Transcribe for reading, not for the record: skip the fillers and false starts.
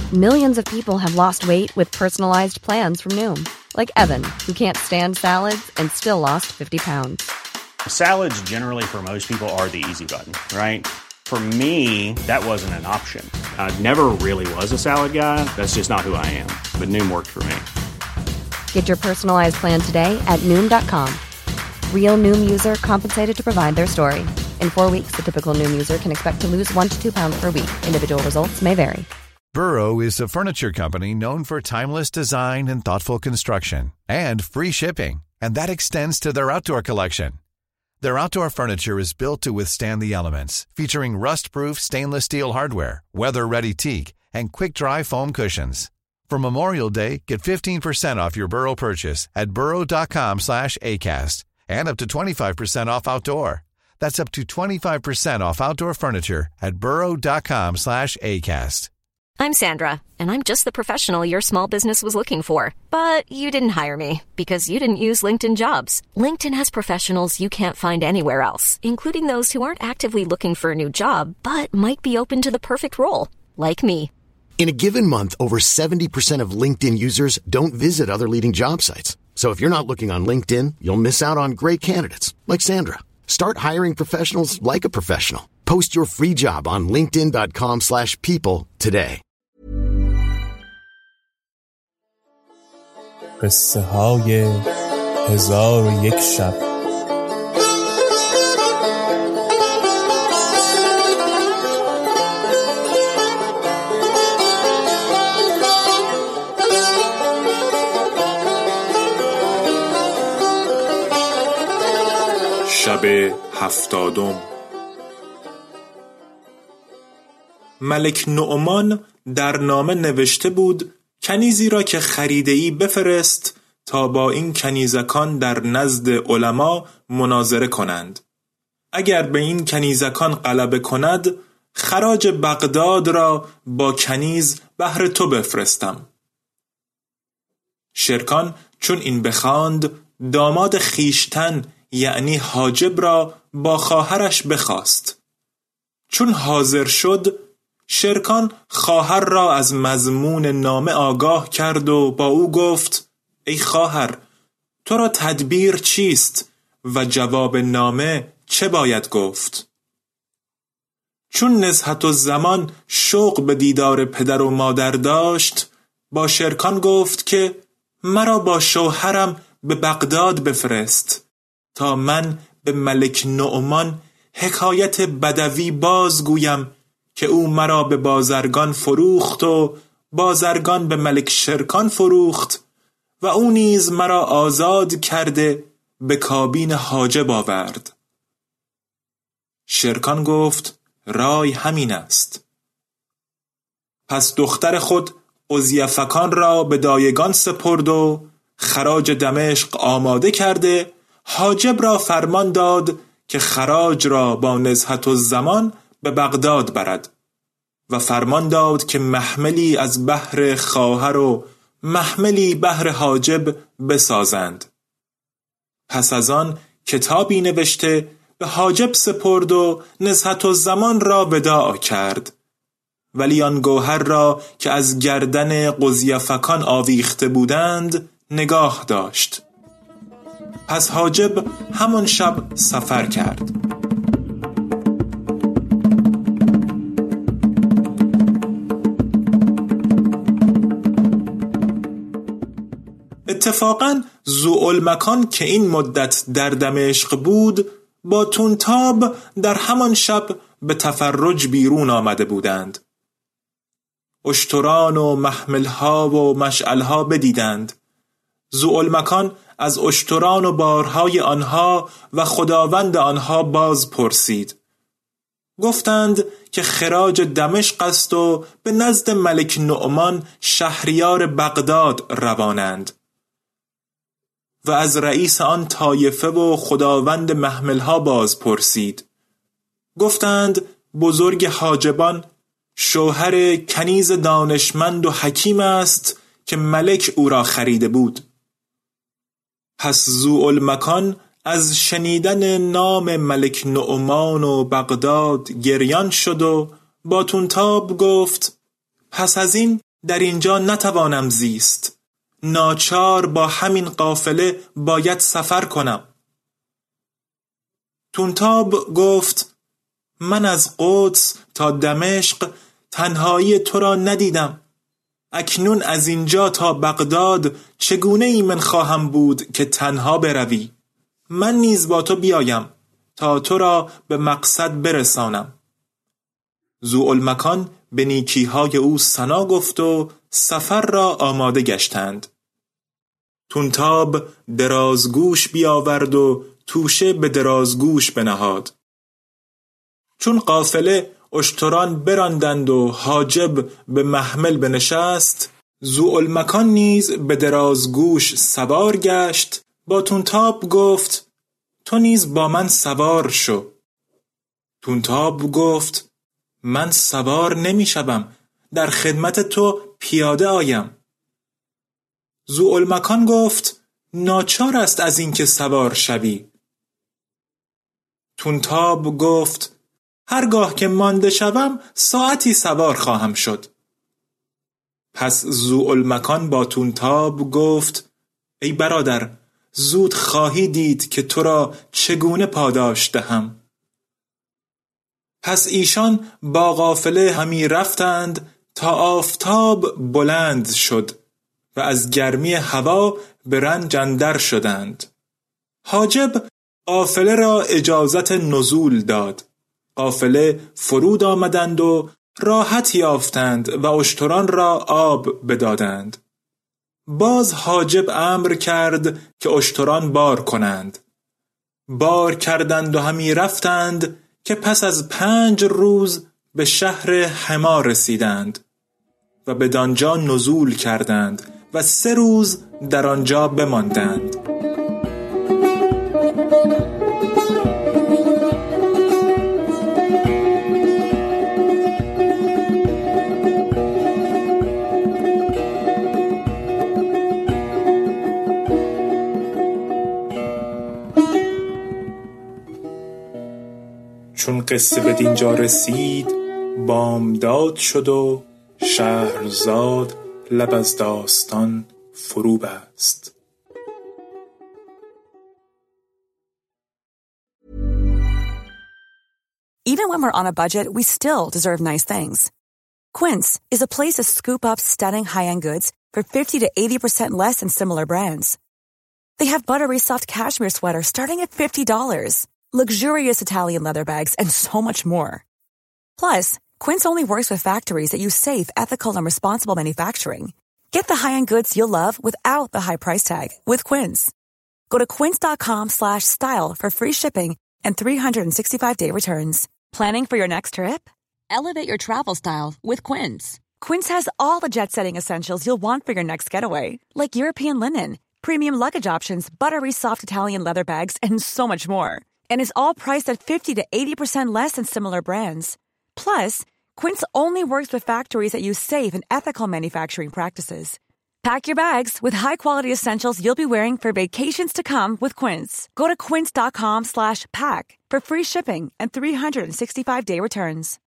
Millions of people have lost weight with personalized plans from Noom. Like Evan, who can't stand salads and still lost 50 pounds. Salads generally for most people are the easy button, right? For me, that wasn't an option. I never really was a salad guy. That's just not who I am. But Noom worked for me. Get your personalized plan today at Noom.com. Real Noom user compensated to provide their story. In 4 weeks, the typical Noom user can expect to lose 1 to 2 pounds per week. Individual results may vary. Burrow is a furniture company known for timeless design and thoughtful construction, and free shipping, and that extends to their outdoor collection. Their outdoor furniture is built to withstand the elements, featuring rust-proof stainless steel hardware, weather-ready teak, and quick-dry foam cushions. For Memorial Day, get 15% off your Burrow purchase at burrow.com/acast, and up to 25% off outdoor. That's up to 25% off outdoor furniture at burrow.com/acast. I'm Sandra, and I'm just the professional your small business was looking for. But you didn't hire me because you didn't use LinkedIn Jobs. LinkedIn has professionals you can't find anywhere else, including those who aren't actively looking for a new job, but might be open to the perfect role, like me. In a given month, over 70% of LinkedIn users don't visit other leading job sites. So if you're not looking on LinkedIn, you'll miss out on great candidates, like Sandra. Start hiring professionals like a professional. Post your free job on linkedin.com/people today. قصه های 1001 شب. شب 70. ملک نعمان در نامه نوشته بود کنیزی را که خریده‌ای بفرست تا با این کنیزکان در نزد علما مناظره کنند. اگر به این کنیزکان غلبه کند، خراج بغداد را با کنیز بهر تو بفرستم. شرکان چون این بخواند، داماد خیشتن یعنی حاجب را با خواهرش بخواست. چون حاضر شد، شرکان خواهر را از مضمون نامه آگاه کرد و با او گفت ای خواهر، تو را تدبیر چیست و جواب نامه چه باید گفت؟ چون نزهت الزمان شوق به دیدار پدر و مادر داشت، با شرکان گفت که مرا با شوهرم به بغداد بفرست تا من به ملک نعمان حکایت بدوی بازگویم که او مرا به بازرگان فروخت و بازرگان به ملک شرکان فروخت و او نیز مرا آزاد کرده به کابین حاجب آورد. شرکان گفت رای همین است. پس دختر خود قضیفکان را به دایگان سپرد و خراج دمشق آماده کرده حاجب را فرمان داد که خراج را با نزهت الزمان به بغداد برد و فرمان داد که محملی از بهر خواهر و محملی بهر حاجب بسازند. پس از آن کتابی نوشته به حاجب سپرد و نزهت الزمان را وداع کرد، ولی آن گوهر را که از گردن قضیفکان آویخته بودند نگاه داشت. پس حاجب همان شب سفر کرد. اتفاقاً ذوالمکان که این مدت در دمشق بود با تونتاب در همان شب به تفرج بیرون آمده بودند. اشتران و محملها و مشعلها بدیدند. ذوالمکان از اشتران و بارهای آنها و خداوند آنها باز پرسید. گفتند که خراج دمشق است و به نزد ملک نعمان شهریار بغداد روانند. و از رئیس آن طایفه و خداوند محملها باز پرسید. گفتند بزرگ حاجبان شوهر کنیز دانشمند و حکیم است که ملک او را خریده بود. پس ذوالمکان از شنیدن نام ملک نعمان و بغداد گریان شد و با تونتاب گفت پس از این در اینجا نتوانم زیست. ناچار با همین قافله باید سفر کنم. طونتاب گفت من از قدس تا دمشق تنهایی تو را ندیدم. اکنون از اینجا تا بغداد چگونه ایمن خواهم بود که تنها بروی؟ من نیز با تو بیایم تا تو را به مقصد برسانم. ذوالمکان به نیکیهای او ثنا گفت و سفر را آماده گشتند. طونتاب درازگوش بیاورد و توشه به درازگوش بنهاد. چون قافله اشتران براندند و حاجب به محمل بنشست، ذوالمکان نیز به درازگوش سوار گشت. با طونتاب گفت تو نیز با من سوار شو. طونتاب گفت من سوار نمی شوم، در خدمت تو پیاده آیم. ذوالمکان گفت ناچار است از اینکه سوار شوی. طونتاب گفت هرگاه که مانده شوم ساعتی سوار خواهم شد. پس ذوالمکان با طونتاب گفت ای برادر، زود خواهی دید که تو را چگونه پاداش دهم. پس ایشان با قافله همی رفتند تا آفتاب بلند شد و از گرمی هوا به رنج اندر شدند. حاجب قافله را اجازت نزول داد. قافله فرود آمدند و راحت یافتند و اشتران را آب بدادند. باز حاجب امر کرد که اشتران بار کنند. بار کردند و همی رفتند که پس از 5 روز به شهر حما رسیدند و بدانجا نزول کردند و 3 روز در آنجا بماندند. چون قصه به دینجا رسید بامداد شد و شهرزاد لب از داستان فرو بست. Even when we're on a budget, we still deserve nice things. Quince is a place to scoop up stunning high-end goods for 50 to 80% less than similar brands. They have buttery soft cashmere sweaters starting at $50, luxurious Italian leather bags, and so much more. Plus, Quince only works with factories that use safe, ethical, and responsible manufacturing. Get the high-end goods you'll love without the high price tag with Quince. Go to quince.com/style for free shipping and 365-day returns. Planning for your next trip? Elevate your travel style with Quince. Quince has all the jet-setting essentials you'll want for your next getaway, like European linen, premium luggage options, buttery soft Italian leather bags, and so much more. And is all priced at 50 to 80% less than similar brands. Plus, Quince only works with factories that use safe and ethical manufacturing practices. Pack your bags with high-quality essentials you'll be wearing for vacations to come with Quince. Go to quince.com/pack for free shipping and 365-day returns.